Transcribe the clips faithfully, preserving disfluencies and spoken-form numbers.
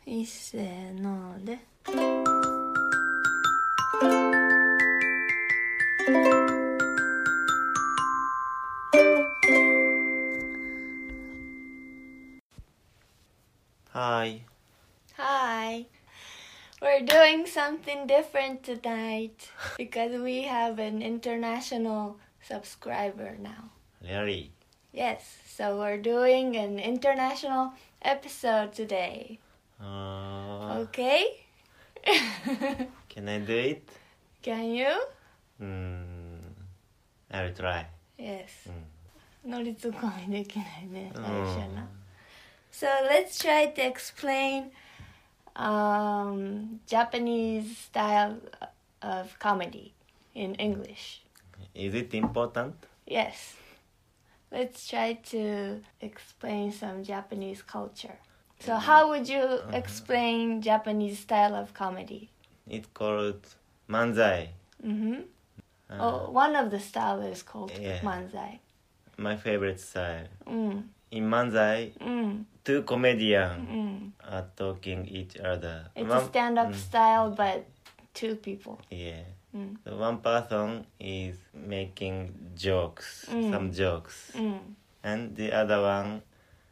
いっせーので。 Hi. Hi. We're doing something different tonight because we have an international subscriber now. Really? Yes, so we're doing an international episode today. Uh, Okay? Can I do it? Can you? Mm, I'll try. Yes. うん、 乗りツッコミできないね、最うん、 初の。So let's try to explain um, Japanese style of comedy in English. Is it important? Yes. Let's try to explain some Japanese culture. So how would you explain Japanese style of comedy? It's called manzai. Mm-hmm. Uh, Oh, one of the style is called yeah. manzai. My favorite style. Mm. In manzai, Mm. two comedians Mm. are talking each other. It's One- a stand-up mm, style, but two people. Yeah. Mm. So one person is making jokes, Mm. some jokes, Mm. and the other one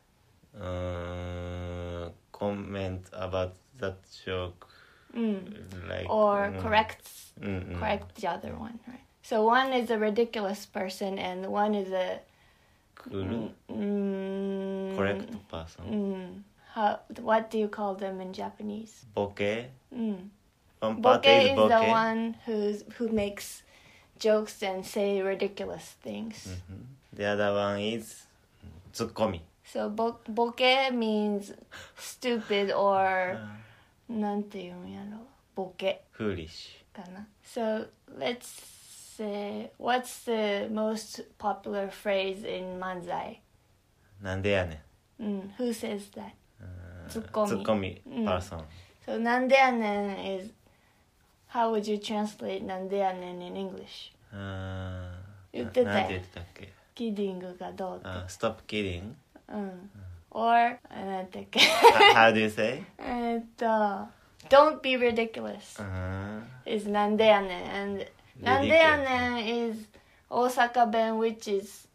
uh, comment about that joke, Mm. like Or mm, corrects mm, mm. correct the other one, right? So one is a ridiculous person and one is a cool, mm, correct person. Mm, how, what do you call them in Japanese? Boke. Mm. One part Boke is is boke. the one who's who makes jokes and say ridiculous things. Mhm. The other one is tsukomi. So bo- boke means stupid or Uh, なんて言うんやろ、ボケ foolish. かな。So let's say, what's the most popular phrase in manzai? なんでやねん。 Mm, who says that? Uh, Tsukomi. Tsukomi Mm. person. So なんでやねん is, how would you translate なんでやねん in English? あー言ってたよななんて言ってたっけ。 キディングがどうって。 あ、stop kidding. うん。or なんてっけ How do you say? えっと don't be ridiculous あ is なんでやねん and なんでやねん is 大阪弁 which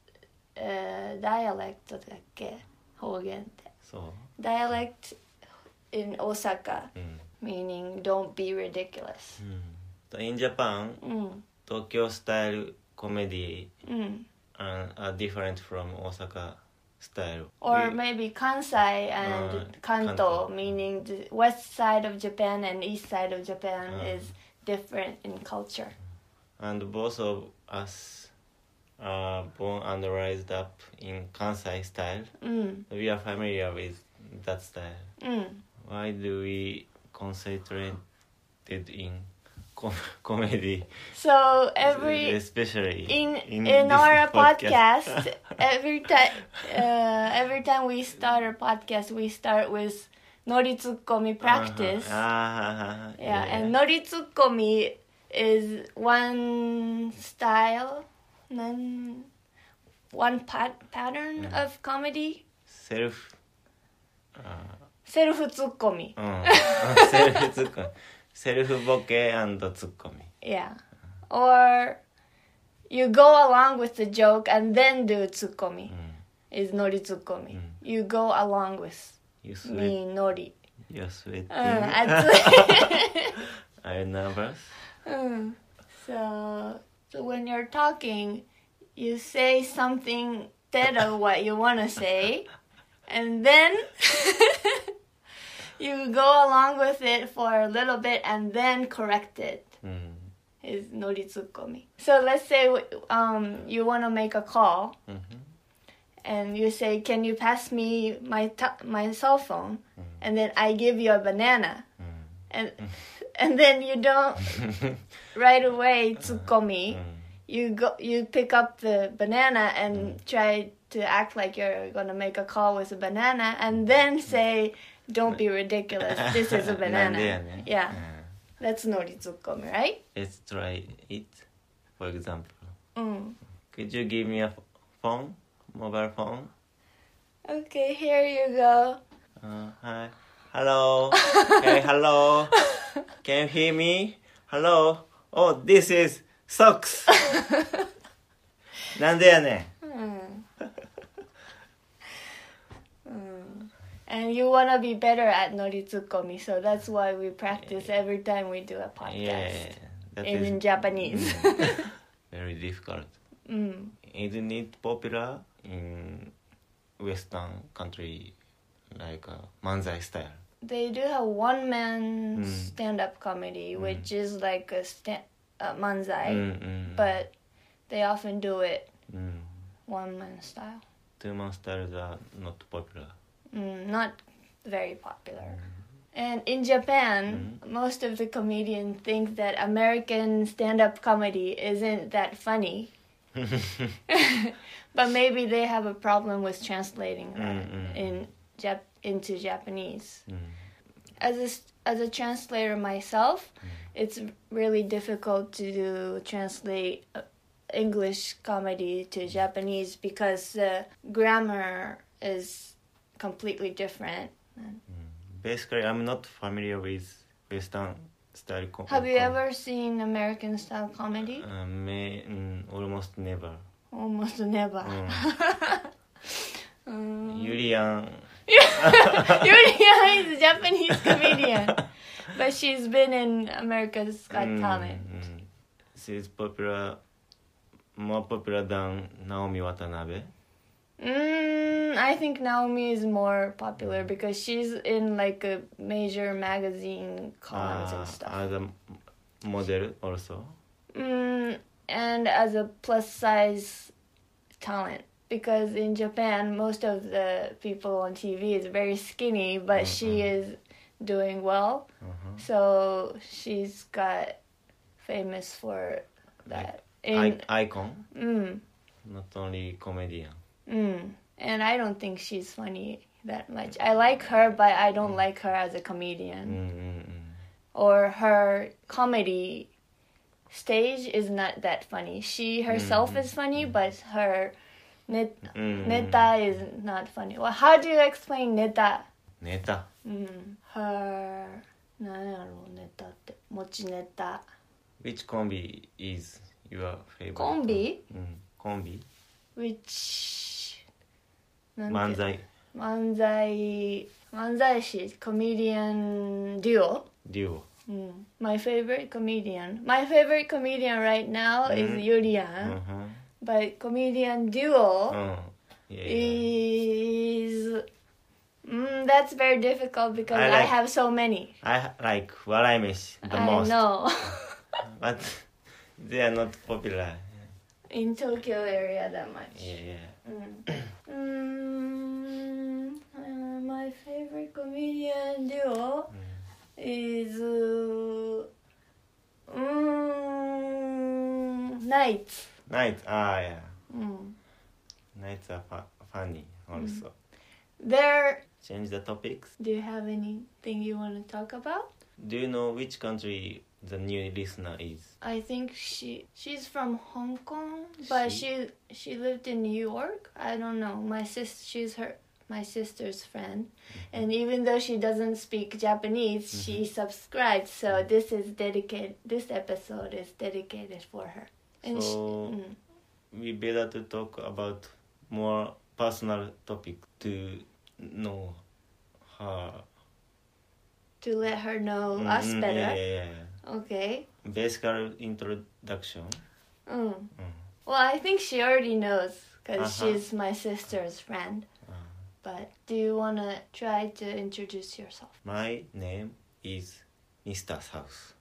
is、uh, dialect だっけ方言って。 そう。 dialect in 大阪、 うん。 meaning don't be ridiculous うん。In Japan, うん。 東京スタイルコメディうん。 are, are different from 大阪 style. Or We- maybe Kansai and Uh, Kanto, Kanto. meaning the west side of Japan and east side of Japan Uh. is different in culture. And both of us are born and raised up in Kansai style. うん。 We are familiar with that style. うん。 Why do we concentrated in com- comedy? So every especially in in, this our podcast, every time uh, every time we start our podcast, we start with noritsukomi practice. Uh-huh. Ah, Yeah, and noritsukomi is one style, one one pat- pattern Mm. of comedy. self セルフツッコミ。 うん、セルフツッコミ、セルフボケ&ツッコミ。 Yeah. Or you go along with the joke and then do ツッコミ。is ノリツッコミ。You go along with You sweat, me ノリ。 you're sweating. うん、熱い。 Are you nervous? うん。So, so when you're talking, you say something instead of what you want to say, and then you go along with it for a little bit and then correct it. うん。 Is ノリツッコミ。So let's say um, you want to make a call うん and you say, "Can you pass me my t- my cell phone?" And then I give you a banana, うん and and then you don't right away ツッコミ。 うん You go, you pick up the banana and try to act like you're gonna make a call with a banana, and then say, "Don't be ridiculous. This is a なんで banana." やねん。 Yeah, うん that's ノリツッコミ, right? Let's try it. For example, うん。 could you give me a phone, mobile phone? Okay, here you go. Uh, hi, Hello. Hey, hello. Can you hear me? Hello. Oh, this is socks. なんでやねん。 And you want to be better at noritsukomi, so that's why we practice every time we do a podcast Yeah, that in, is in Japanese. mm, very difficult. Mm. Isn't it popular in Western country like uh, manzai style? They do have one man Mm. stand-up comedy, Mm. which is like a sta- uh, manzai, Mm, mm, but they often do it mm. one man style. Two man styles are not popular. Mm, not very popular. And in Japan, Mm. most of the comedians think that American stand-up comedy isn't that funny. But maybe they have a problem with translating that Mm, mm. in Jap- into Japanese. Mm. As a, s- as a translator myself, Mm. it's really difficult to do, translate uh, English comedy to Japanese because the grammar is completely different. Basically, I'm not familiar with Western style comedy. Have you ever seen American style comedy? Uh, may, mm, almost never. Almost never. Mm. Um, Yulian. Yuria is a Japanese comedian, but she's been in America's Got Mm, Talent. mm. She's popular, more popular than Naomi Watanabe. Mm, I think Naomi is more popular because she's in like a major magazine columns Ah, and stuff. as a model also. Mm, and as a plus size talent. Because in Japan, most of the people on T V is very skinny, but Mm, she mm. is doing well. Uh-huh. So she's got famous for that. In, I- icon, mm, not only comedian. mm. And I don't think she's funny that much. I like her, but I don't like her as a comedian. Mm, mm, mm. Or her comedy stage is not that funny. She herself Mm, is funny, but her net, Mm. neta is not funny. Well, how do you explain neta? ネタ。 Mm. Her なんやろネタって持ちネタ Which combi is your favorite? コンビうん、コンビ which なんて漫才漫才漫才師 comedian duo デュオ mm. My favorite comedian my favorite comedian right now is Mhm. Yulian うん but comedian duo うん Yeah, yeah. is mm, that's very difficult because I I, like- have so many I like 笑い飯 the I most know but they are not popular. in Tokyo area that much Yeah, yeah. mm. Mm, uh, my favorite comedian duo is uh, mm, Nights. Night, ah, yeah. Mm. Nights are fu- funny also. There. Change the topics. Do you have anything you want to talk about? Do you know which country the new listener is? I think she she's from Hong Kong, but She? she she lived in New York. I don't know. My sis she's her my sister's friend, and even though she doesn't speak Japanese, she subscribed. So this is dedicated. This episode is dedicated for her. And she, So mm, we better to talk about more personal topic to know her. to let her know us Mm, better. Yeah, yeah, yeah. Okay. Basic introduction. Mm. Mm. Well, I think she already knows because Uh-huh. she's my sister's friend. Uh, But do you want to try to introduce yourself? my name is Mister South.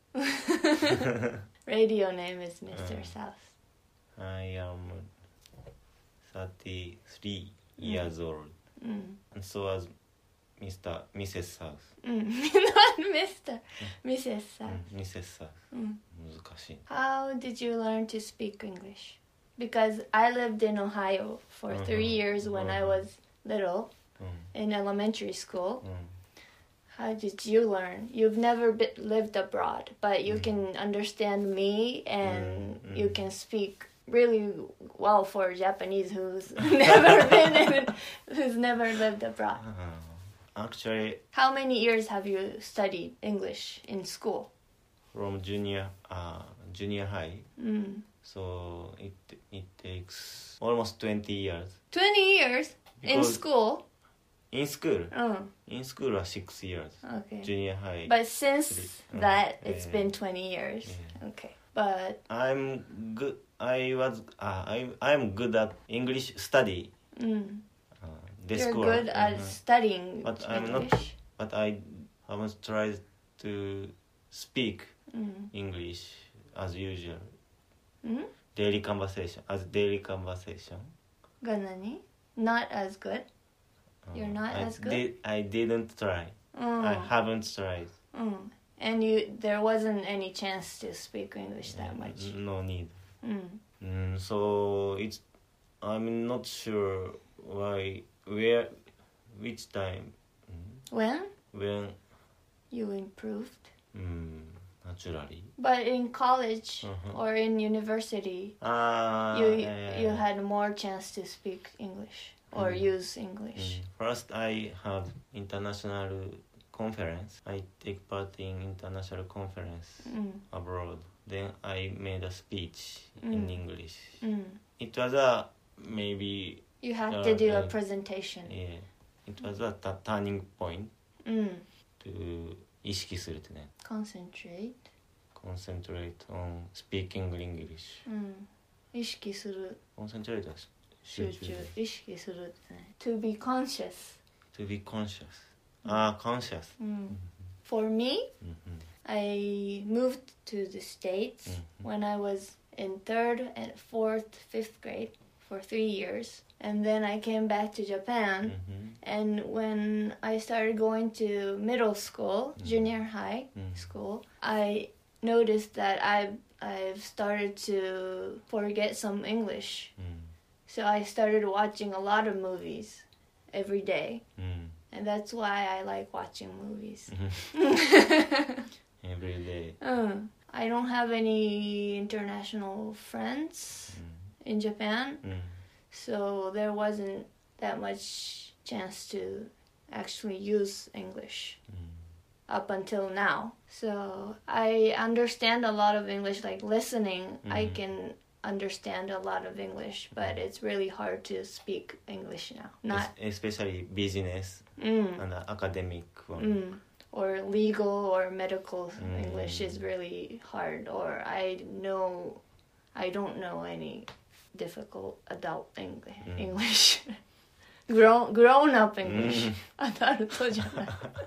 Radio name is Mister Mm. South. I am thirty-three years old, Mm. and so as Mister Missus South. Mm. Not Mister Missus South. Mm, Missus South. Mm. 難しい。 How did you learn to speak English? Because I lived in Ohio for Mhm. three years when I Mhm. was little うん、 in elementary school. うん。 How did you learn? You've never be- lived abroad, but you Mm. can understand me and Mm, you mm. can speak really well for Japanese who's never been in, who's never lived abroad. actually How many years have you studied English in school? from junior uh, junior high, Mm. so it it takes almost twenty years. twenty years in Because school? in school, Oh, in school was six years. okay. Junior high. But since Three. that, Uh, it's yeah. been twenty years. Yeah. Okay. But, I'm good. I was. Uh, I I'm good at English study. mm, Uh, this you're school. good at Mhm. studying But I'm not- English. But I haven't tried to speak Mm. English as usual. Mm? Daily conversation as daily conversation. が何? Not as good? You're not I as good? Did, I didn't try. Mm. I haven't tried. Mm. And you, there wasn't any chance to speak English that much. No need. Mm. Mm, so it's. I'm not sure why. Where. Which time. When When. you improved. Mm, naturally. But in college Uh-huh. or in university, Ah. you yeah, yeah, you yeah. had more chance to speak English or Mm. use English. Mm. First, I have international conference. I take part in international conference Mm. abroad. Then I made a speech in Mm. English. Mm. It was a maybe You had Uh, to do a uh, presentation. yeah. It was a ta- turning point Mm. to 意識するってね。 Concentrate. Concentrate on speaking English. うん。意識する。 Concentrate は集中。意識するってね。To be conscious. To be conscious. ああ、conscious. うん。For me, うんうん。 I moved to the States Mhm. when I was in third and fourth, fifth grade for three years. And then I came back to Japan. うんうん And when I started going to middle school, Mhm. junior high Mhm. school, I noticed that I've, I've started to forget some English. うん So I started watching a lot of movies every day. うん And that's why I like watching movies. うん Every day. Uh, I don't have any international friends うん in Japan, うん so there wasn't that much chance to actually use English うん up until now. So I understand a lot of English, like listening, I Mhm. can understand a lot of English, but it's really hard to speak English now. Not, Es- especially business mm, and academic one. mm, or legal or medical Mm. English is really hard, or I know, I don't know any difficult adult English. Mm. English. grown grown up English. うん adult じゃない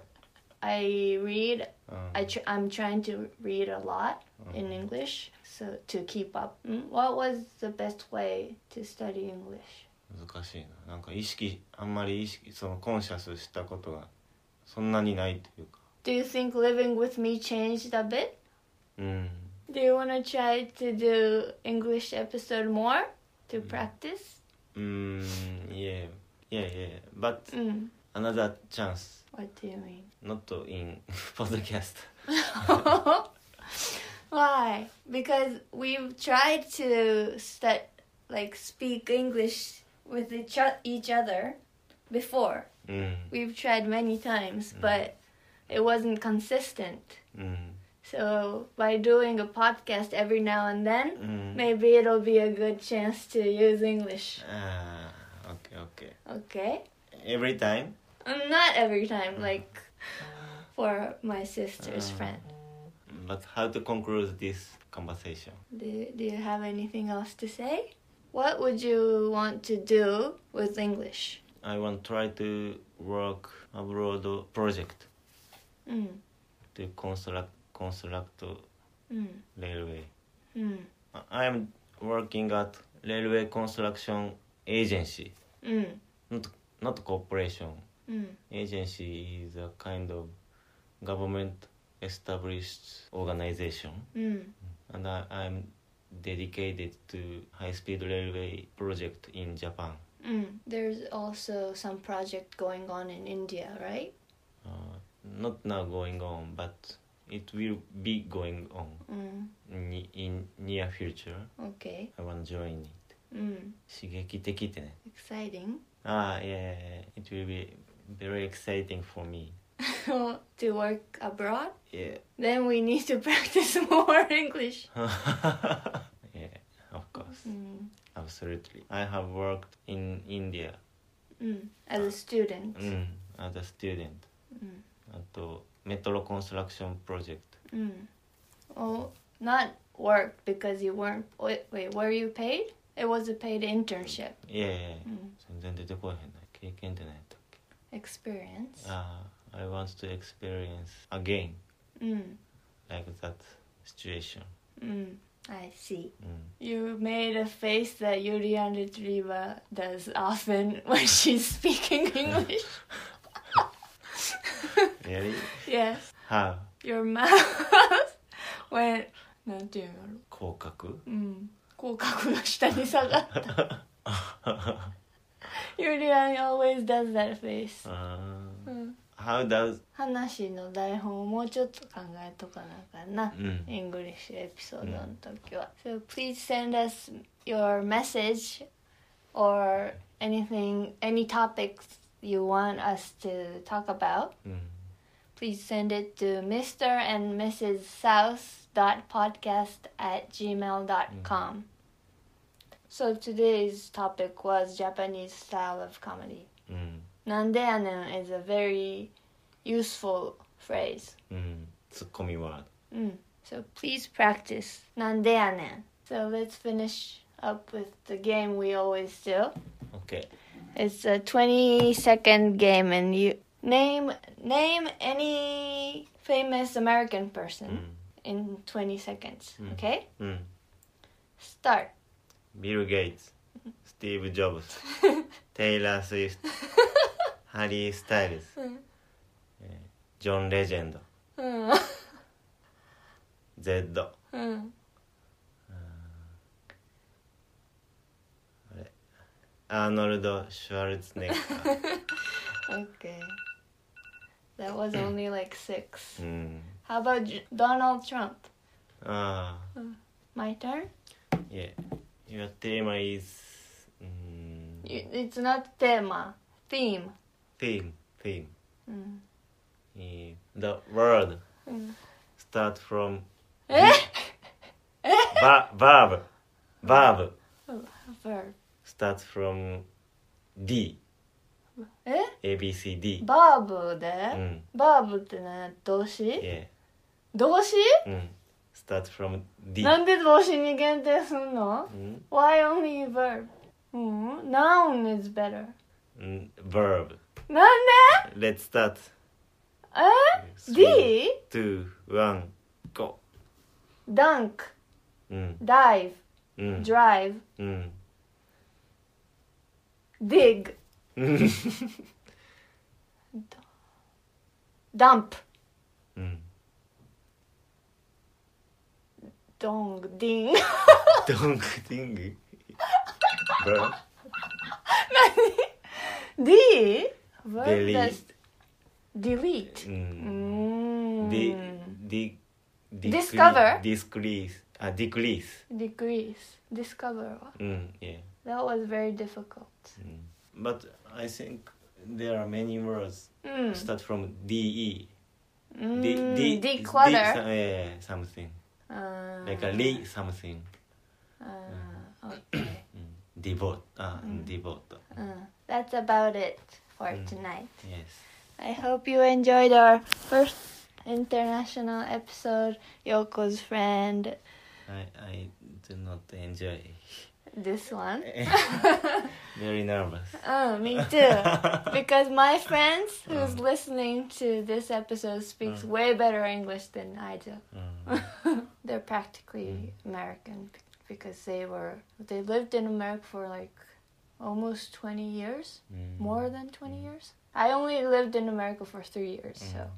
I read. うん I tr- I'm trying to read a lot in English, so to keep up. Mm, What was the best way to study English? 難しいな。なんか意識あんまり意識そのコンシャスしたことがそんなにないというか。 Do you think living with me changed a bit? うん。 Do you want to try to do English episode more to practice? うーん。Yeah. Yeah, yeah. But Mm. another chance. What do you mean? Not in podcast. Why? Because we've tried to stu- like speak English with each, o- each other before. うん。 We've tried many times, but it wasn't consistent. うん。 So by doing a podcast every now and う then, ん。 maybe it'll be a good chance to use English. ああ、OK, OK. Okay? Every time? Um, not every time, like for my sister's Uh. friend. But how to conclude this conversation? Do, do you have anything else to say? What would you want to do with English? I want to try to work abroad project Mm, to construct construct mm, railway. mm, I am working at railway construction agency, mm, not not corporation. mm, Agency is a kind of government established organization, mm. and I, I'm dedicated to high-speed railway project in Japan. Mm. There's also some project going on in India, right? Uh, not now going on, but it will be going on Mm, in, in near future. okay. I want to join it. Mm. 刺激的ってね。 Exciting. ああ、いやいやいや、it will be very exciting for me. To work abroad? Yeah. Then we need to practice more English. Yeah, of course. Mm. Absolutely. I have worked in India. Mm. As a student. Mm, as a student. うん。 あと、メトロコンストラクションプロジェクト。 Mm. Well, not work because you weren't. Wait, wait, were you paid? It was a paid internship. いやいやいや、 うん全然出てこえへんな。経験って何やったっけ？ Experience. ああ、I want to experience again Mm. like that situation. Mm. I see. うん。 You made a face that Yurian Retriever does often when she's speaking English. Really? Yes. How? Your mouth when なんていうの？ 口角？ うん。口角が下に下がった。Yurian always does that face. あーうん。 How does? 話の台本をもうちょっと考えとかなあかんな。 うん。 English エピソードの時は。So please send us your message or anything, any topics you want us to talk about. うん。 Please send it to Mister and Missus South dot podcast at gmail dot com. So today's topic was Japanese style of comedy. うん。 Nandeanen is a very useful phrase. うん。ツッコミワード。 Mm. So please practice Nandeanen. So let's finish up with the game we always do. OK。 It's a twenty second game and you name name any famous American う person ん。 in twenty seconds. Mm. Okay? うん。 Start. ビル・ゲイツ、スティーブ・ジョブズ、テイラー・スウィフト、ハリー・スタイルズ、えージョン・レジェンド、 Mm. Z、 Mm. あれアーノルド・シュワルツェネッガー。 Okay. That was only like six. うん。 How about J- Donald Trump? ああ、 My turn? yeah. Your theme is うん You- It's not thema. Theme. theme, theme. Mm. えー The word Mm. start from え va- verb, verb Verb. starts from D, え A, B, C, D. バーブで、 うん。 バーブって何動詞、 Yeah. 動詞、 うん。start from D. なんで動詞に限定すんの、 うん Why only verb? うん、noun is better. うん verb. なんで Let's start. え D? two, one, go. Dunk, うん。 dive, うん。 drive, うん。 dig, うん。 dump, うん。 dong, ding. ドンクティング verb. D? Verb Delete. that's delete. う。 うんん。 D, D, Discover? Decrease. あ、decrease. Decrease. Discover はうん。Yeah. That was very difficult. うん。But I think there are many words うん。 start from D, E. うん D, D, declutter. D, some- yeah, something. あー Like a re something. あー okay. うん devote. あ、 うん devote. うん That's about it for うん tonight. Yes. I hope you enjoyed our first international episode, Yoko's friend. I, I do not enjoy. This one. Very nervous. Oh, me too. Because my friends who's Mm. listening to this episode speaks Mm. way better English than I do. うん。 They're practically American b- because they were they lived in America for like almost twenty years, うん more than twenty years. I only lived in America for three years, so.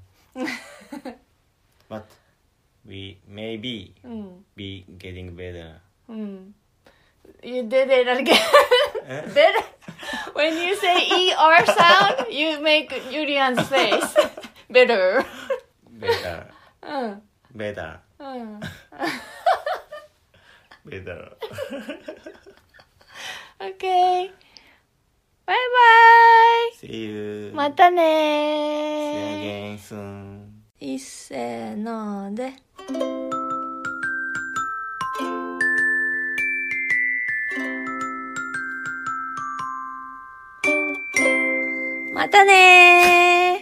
But we maybe Mm. be getting better. Mm. You did it again. Eh? Better. When you say E R sound, you make Yurian's face. Better. Better. Mm. Better. Mm. Better. Okay. バイバ See you イ。またね See you again soon いっせーので。またねー。